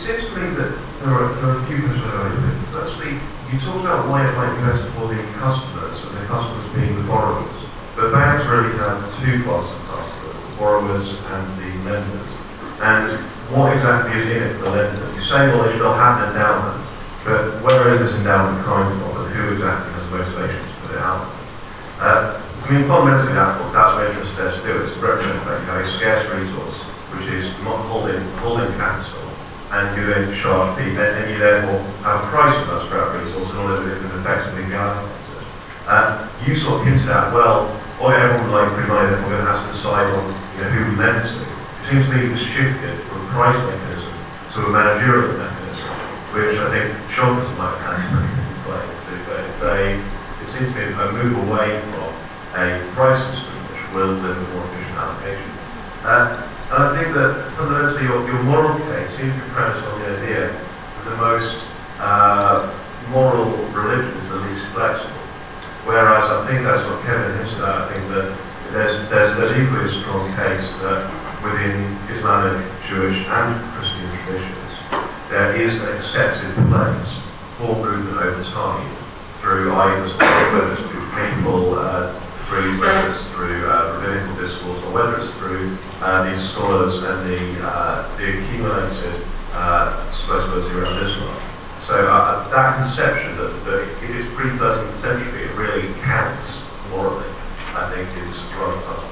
seems to me that there are a few questions I have. Firstly, you talked about why it might be better for the customers, and the customers being the borrowers. But banks really have two classes of customers, the borrowers and the lenders. And what exactly is in it for the lender? You say, well, they should all have an endowment, but where is this endowment coming from, and who exactly has the motivation to put it out? I mean, fundamentally, that's what interest there to do. It's to represent that you have a scarce resource, which is not holding capital, and you then charge fee, and you therefore have a price for that scrap resource in order that it can effectively be allocated. You sort of hinted at, well, everyone would like free money, then we're going to have to decide on who we lend to. It seems to me it was shifted from a price mechanism to a managerial mechanism, which I think Sean might have had something to but it seems to be a move away from a price system which will deliver more efficient allocation. And I think that fundamentally your moral case seems to be premised on the idea that the most moral religion is the least flexible. Whereas I think that's what Kevin hinted at. I think that there's equally a strong case that within Islamic, Jewish and Christian traditions there is an accepted place for movement over time through either whether it's through papal decrees, whether it's through rabbinical discourse, or whether it's through these scholars and the accumulated supposedly around Islam. So that conception that it is pre-13th century, it really counts morally, I think is rather suspect.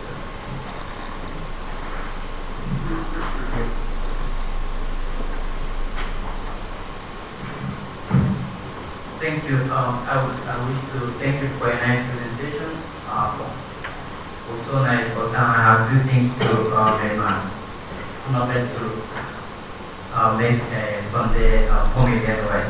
Thank you. I wish to thank you for a nice presentation. Also nice, but I have two things to mention. Not meant to make Sunday comment anyway.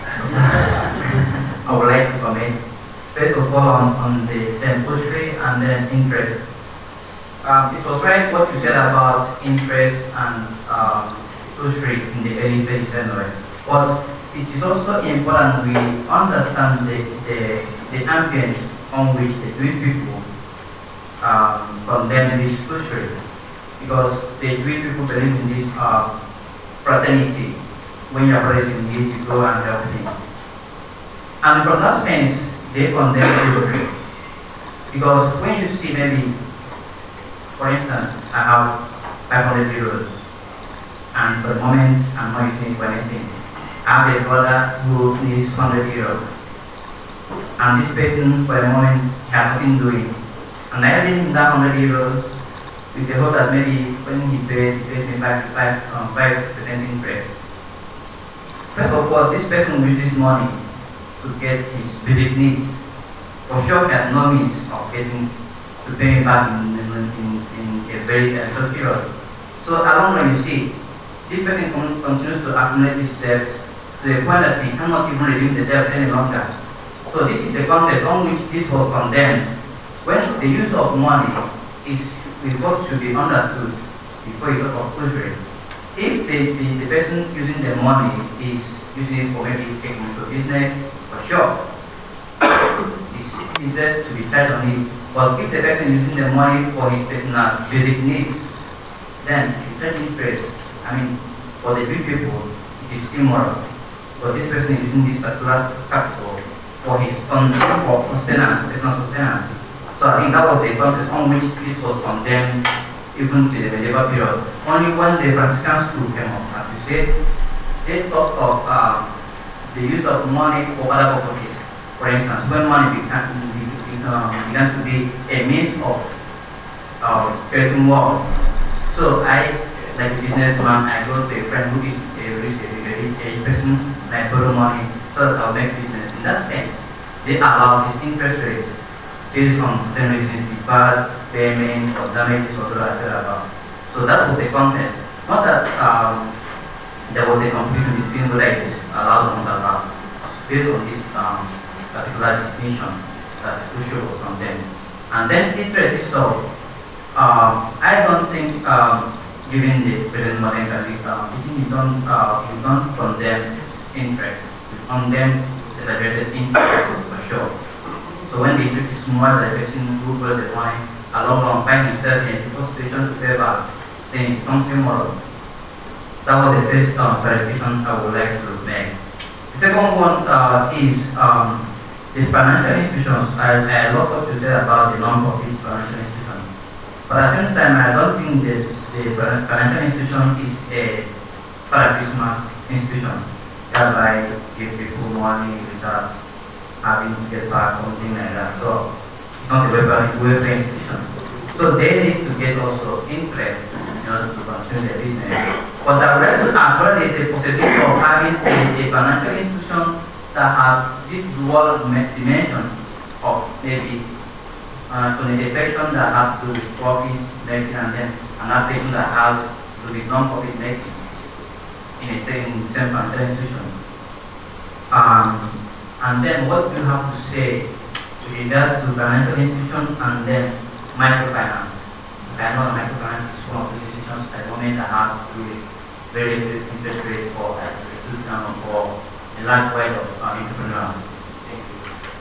I would like to comment. First of all, on the poetry and then interest. It was right what you said about interest and poetry in the early stages anyway. But it is also important we understand the ambience on which the Jewish people condemn this poetry, because the Jewish people believe in this fraternity. When your brother is in need, you go and help him. And from that sense, they condemn poetry. Because when you see maybe, for instance, I have 500 euros, and for the moment I'm not using it for anything. I have a brother who needs 100 euros, and this person for the moment has nothing doing. And I lend him that 100 euros with the hope that maybe when he pays me 5% interest. First of all, this person will use this money to get his basic needs. For sure, he has no means of getting to pay me back in a very short period. So along when you see, this person continues to accumulate this debt to the point that he cannot even redeem the debt any longer. So this is the context on which this was condemned. When the use of money is what should be understood before you talk of poetry. If the person using the money is using it for maybe taking into business, for sure, it's easier to be tied on it. But if the person using the money for his personal basic needs, then it's interest. I mean, for the big people, it is immoral. But this person is using this particular capital for his own sustenance, personal sustenance. So I think that was the context on which this was condemned even to the medieval period. Only when the Franciscan school came up, as you said, they thought of the use of money for other purposes. For instance, when money began to be a means of creating wealth. So I, like a businessman, I go to a friend who is a person, and I borrow money so that I'll make business. In that sense, they allow this interest rates based on certain reasons, deferred payment or damages or whatever. So that was the context. Not that there was a confusion between whether it is allowed or not allowed. Based on this particular distinction that the issue was condemned. And then interest itself, I don't think given the present modern condition, you don't condemn interest. You condemn celebrated interest for sure. So when the interest is more than the person who borrows the money, along finds himself in a situation to pay back, then it becomes immoral. That was the first clarification I would like to make. The second one is the financial institutions. I love what you said about the non-profit financial institutions. But at the same time, I don't think the financial institution is a para-Christmas institution, whereby give people money without having to get back something like that. So it's not a welfare institution. So they need to get also interest in order to continue their business. But I would like to ask whether there is a possibility of having a financial institution that has this dual dimension of maybe a section that has to do with profit making and then another section that has to do with non-profit making in the same financial institution. And then what do you have to say with regard to financial institutions and then microfinance? I know microfinance is one of those institutions at the moment that has to do with very little interest rate for a student or for a large wide of entrepreneurs. Thank you.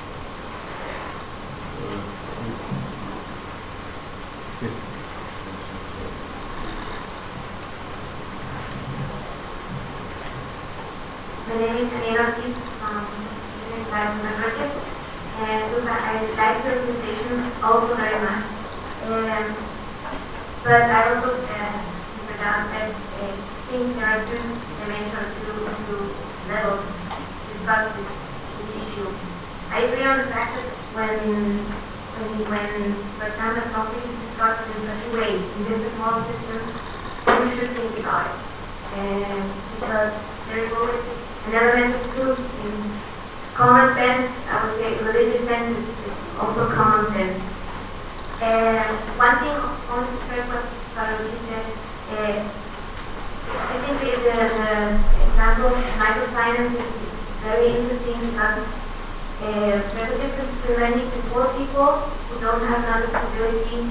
My name is Anila Ortiz from the project, and I like the presentation also very much. But I also forgot that I think there are two dimensions, two levels to discuss this issue. I agree on the fact that when for example, something is discussed in such a way in this small system, we should think about it. Because there is always an element of truth in common sense. I would say religious sense is also common sense. One thing on the first what Carolina said, I think the example of microfinance is very interesting because there's a difference between lending to poor people who don't have another possibility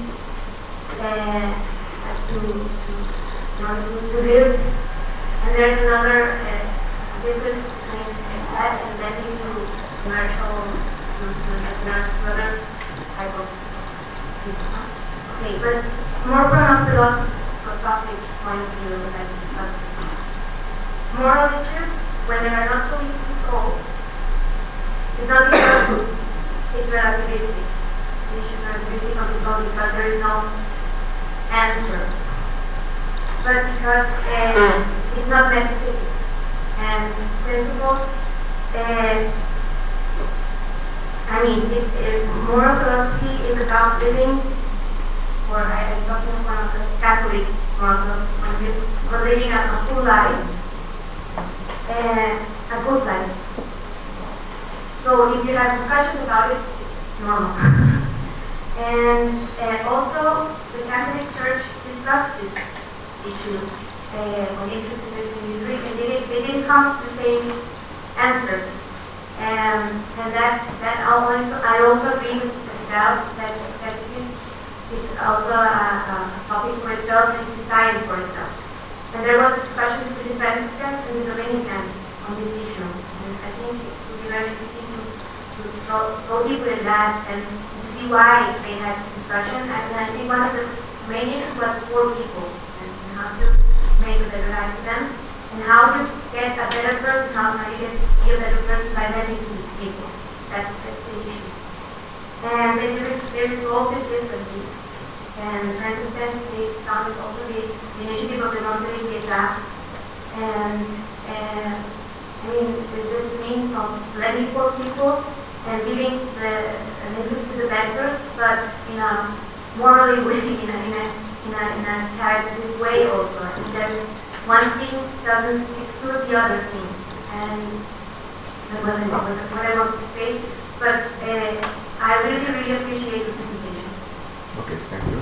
to live, and there's another difference between that and lending to commercial, to other type of people. Okay, but more from a philosophic point of view that I discussed. Moral issues, when they are not fully solved, it's not because it's relativistic. The issues are relativistic of the soul because there is no answer. But because it's not metaphysics and principles, moral philosophy is about living, or I'm talking about the Catholic moral philosophy, for living a full life, a good life. So if you have discussions about it, it's normal. And also, the Catholic Church discussed this issue on interest in this, and they didn't come to the same answers. And that I also agree with Estelle that it's also a topic for itself and society for itself. And there was a discussion between the Franciscans and the Dominicans on this issue. And I think it would be very interesting to go deeper in that and to see why they had this discussion. And I think one of the main issues was poor people and how to make a better life for them. And how to get a better person, how do you be a better person by lending to these people. That's the issue. And there is all this differently. And for instance, they founded also the initiative of the Monterrey Piedad. And this means of lending for people and giving an interest to the bankers, but in a morally way, in a characteristic way also. And then one thing doesn't exclude the other thing, and that's what I want to say. But I really appreciate the presentation. Okay, thank you.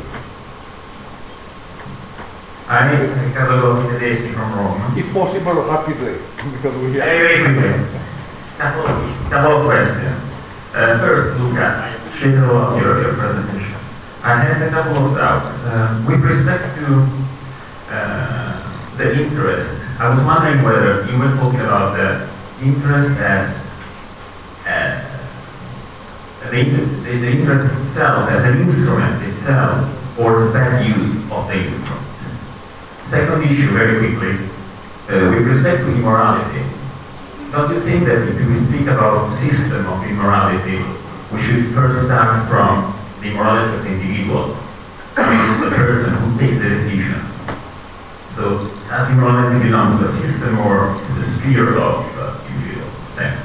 I'm Riccardo Tedeschi from Rome. If possible, rapidly, because we have... Very quickly. Couple of questions. First, Luca, shadow of your presentation. I had a couple of doubts. With respect to the interest, I was wondering whether you were talking about the interest as the interest itself as an instrument itself, or the bad use of the instrument. Second issue, very quickly, with respect to immorality, don't you think that if we speak about system of immorality, we should first start from the immorality of the individual, the person who takes the decision? So, does immorality belong to the system or to the sphere of the individual? Thanks.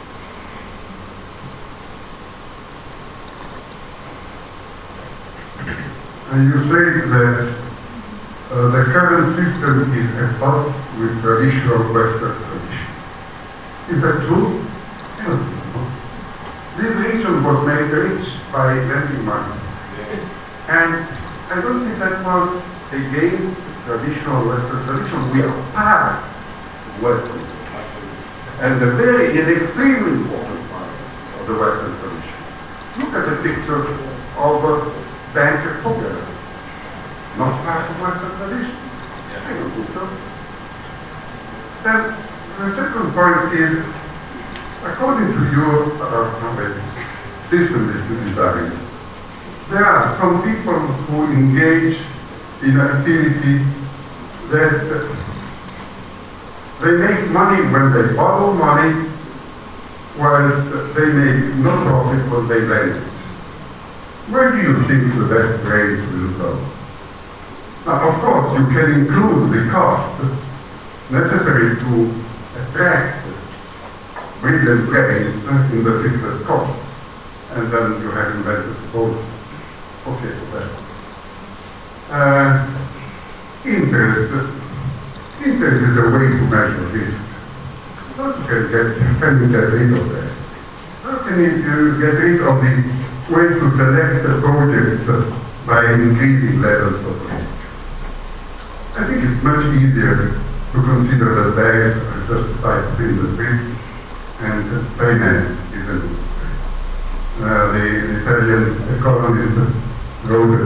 And you say that the current system is at odds with traditional Western tradition. Is that true? I don't think so. This region was made rich by lending money. And I don't think that was against traditional Western tradition. We are part of Western tradition. And the very is extremely important part of the Western tradition. Look at the picture of Banker Fogel. Not part of Western tradition. I don't think so. Then the second point is, according to your system that you designed, there are some people who engage in activity that they make money when they borrow money, while they make no profit when they lend it. Where do you think the best grades will go? Now, of course, you can include the cost necessary to attract brilliant brains in the fixed cost, and then you have invented both. Okay, for that. Interest is a way to measure risk. How can you get rid of that? How can you get rid of the way to select the projects by increasing levels of risk? I think it's much easier to consider that banks are justified industry and finance is an industry. The Italian economist wrote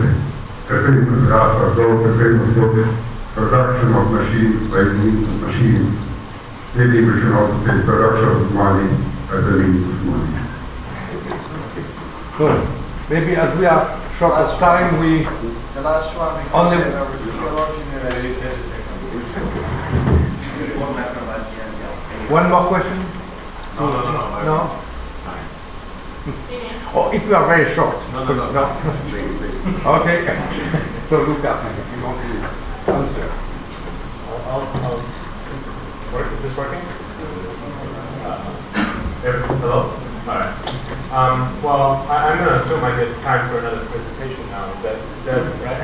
a famous book, Production of Machines by Means of Machines. Maybe we should also say production of money as a means of money. Good. Maybe as we are short of time, we The last one, only one more question? No? Or if you are very short. No. Okay. So Luca, if you want to answer. Is this working? Hello? Alright. Well, I'm going to assume I get time for another presentation now. Is that right?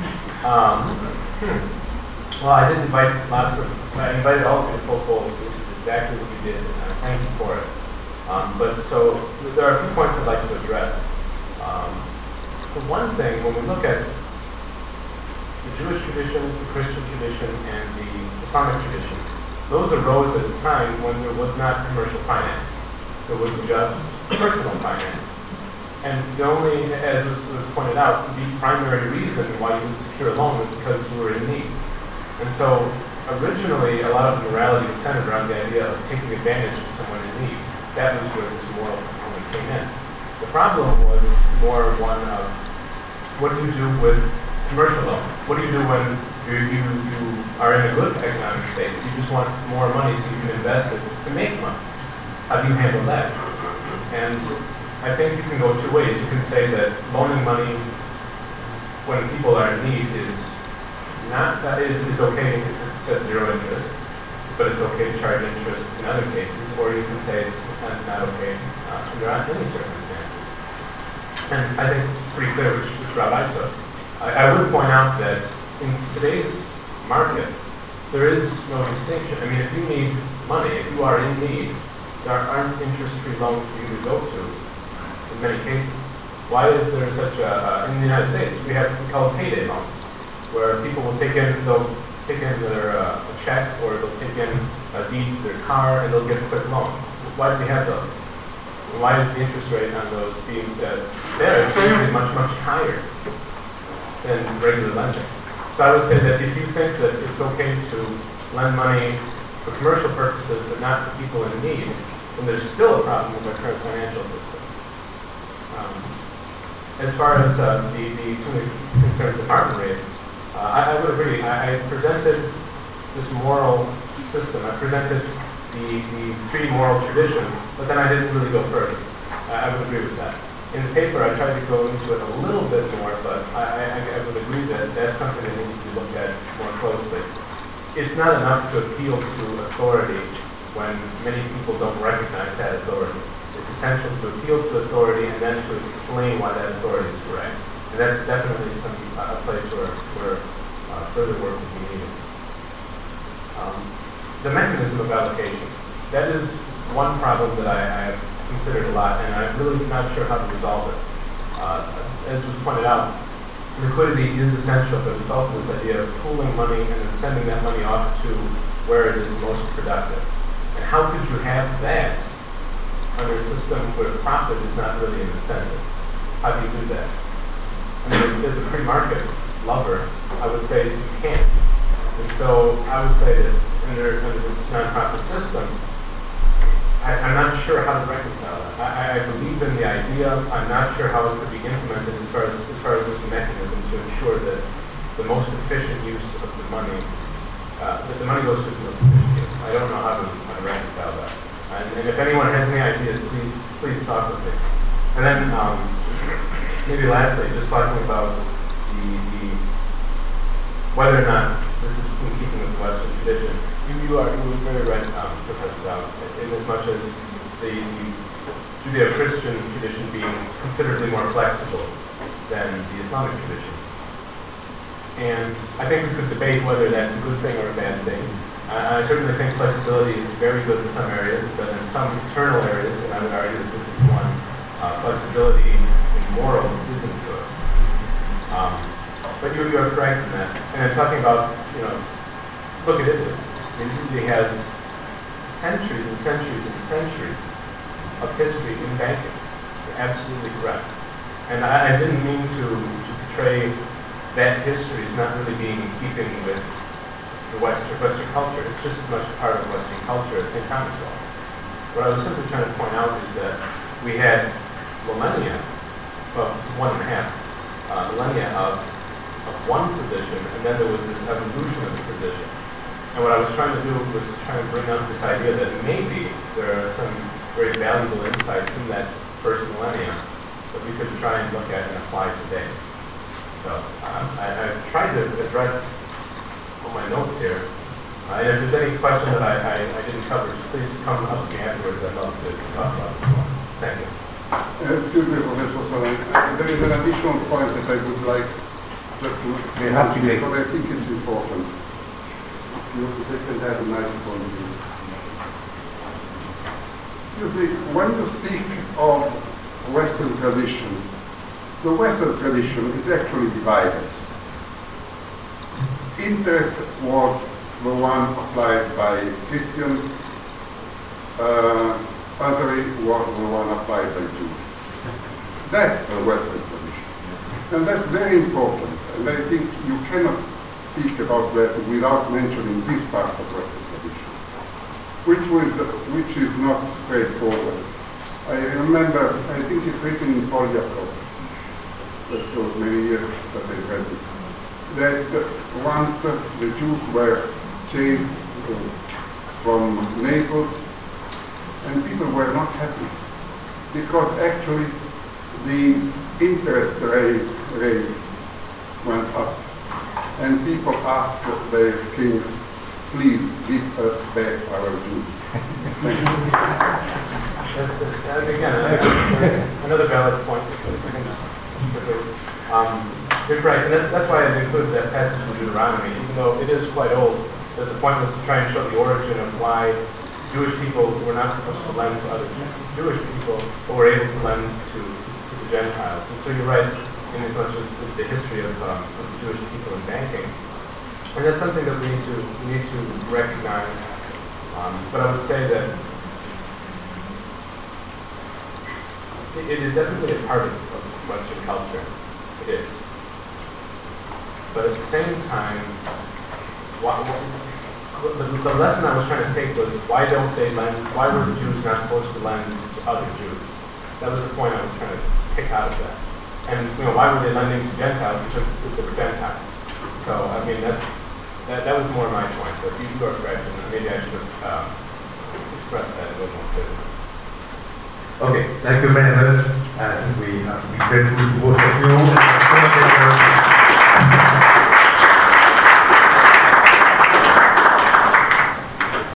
Well, I did invite I invited all of you to full fold. This is exactly what you did, and I thank you for it. So there are a few points I'd like to address. For one thing, when we look at the Jewish tradition, the Christian tradition, and the Islamic tradition, those arose at a time when there was not commercial finance. There was just personal finance. And the only, as was pointed out, the primary reason why you would secure a loan was because you were in need. And so originally, a lot of morality was centered around the idea of taking advantage of someone in need. That was where this moral component came in. The problem was more one of, what do you do with commercial loans? What do you do when you are in a good economic state? You just want more money so you can invest it to make money. How do you handle that? And I think you can go two ways. You can say that loaning money when people are in need is okay if it's at zero interest, but it's okay to charge interest in other cases, or you can say it's not okay under any circumstances. And I think it's pretty clear which route I took. I would point out that in today's market, there is no distinction. I mean, if you need money, if you are in need, there aren't interest-free loans for you to go to in many cases. Why is there such in the United States, we call it payday loans, where people will they'll take in their a check, or they'll take in a deed to their car, and they'll get a quick loan. Why do we have those? And why is the interest rate on those being there? It's usually much, much higher than regular lending. So I would say that if you think that it's okay to lend money for commercial purposes, but not for people in need, then there's still a problem with our current financial system. As far as some of the concerns that Martin raised, I would agree. I presented this moral system. I presented the three moral traditions, but then I didn't really go further. I would agree with that. In the paper, I tried to go into it a little bit more, but I would agree that that's something that needs to be looked at more closely. It's not enough to appeal to authority when many people don't recognize that authority. It's essential to appeal to authority and then to explain why that authority is correct. And that's definitely a place where further work would be needed. The mechanism of allocation. That is one problem that I have considered a lot, and I'm really not sure how to resolve it. As was pointed out, liquidity is essential, but it's also this idea of pooling money and then sending that money off to where it is most productive. And how could you have that under a system where profit is not really an incentive? How do you do that? I mean, as a free market lover, I would say you can't. And so I would say that under this nonprofit system, I'm not sure how to reconcile that. I believe in the idea. I'm not sure how it could be implemented as far as this mechanism to ensure that the most efficient use of the money, that the money goes to the most efficient use. I don't know how to reconcile that. And if anyone has any ideas, please talk with me. And then maybe lastly, just talking about the whether or not this is in keeping with the Western tradition. You were very right, Professor Dowd, in as much as the Judeo-Christian tradition being considerably more flexible than the Islamic tradition. And I think we could debate whether that's a good thing or a bad thing. I certainly think flexibility is very good in some areas, but in some internal areas, and I would argue that this is one, flexibility in morals isn't good. But you are correct in that. And I'm talking about, look at Italy. Italy has centuries and centuries and centuries of history in banking. You're absolutely correct. And I didn't mean to portray that history as not really being in keeping with the Western culture. It's just as much a part of Western culture as St. Thomas was. What I was simply trying to point out is that we had millennia, well, 1.5 millennia of one position, and then there was this evolution of the position. And what I was trying to do was try and bring up this idea that maybe there are some very valuable insights in that first millennia that we could try and look at and apply today. So I've tried to address all my notes here. And if there's any question that I didn't cover, just please come up to me afterwards. I'd love to talk about this one. Thank you. Excuse me, Professor Solon. There is an additional point that I would like just to make, because I think it's important. You can have a nice point of view. You see, when you speak of Western tradition, the Western tradition is actually divided. Interest was the one applied by Christians, usury was the one applied by Jews. That's the Western tradition. And that's very important. And I think you cannot speak about that without mentioning this part of Western tradition, which is not straightforward. I remember, I think it's written in Polyakov, that was many years that I read it, that once the Jews were chased from Naples, and people were not happy, because actually the interest rate went up. And people asked their kings, please give us back our Jews. Thank you. And again, another valid point. You're right, and that's why I included that passage in Deuteronomy, even though it is quite old. The point was to try and show the origin of why Jewish people were not supposed to lend to other Jewish people, but were able to lend to the Gentiles. And so you're right, in as much as the history of the Jewish people in banking. And that's something that we need to recognize. But I would say that it is definitely a part of Western culture. It is. But at the same time, the lesson I was trying to take was, why don't they lend? Why were the Jews not supposed to lend to other Jews? That was the point I was trying to pick out of that. And why were they lending to Gentiles? Because they were Gentiles. So I mean, that's that was more my point. So if you are correct, then maybe I should have expressed that a little more clearly. Okay, thank you very much. I think we have to be grateful to both of you.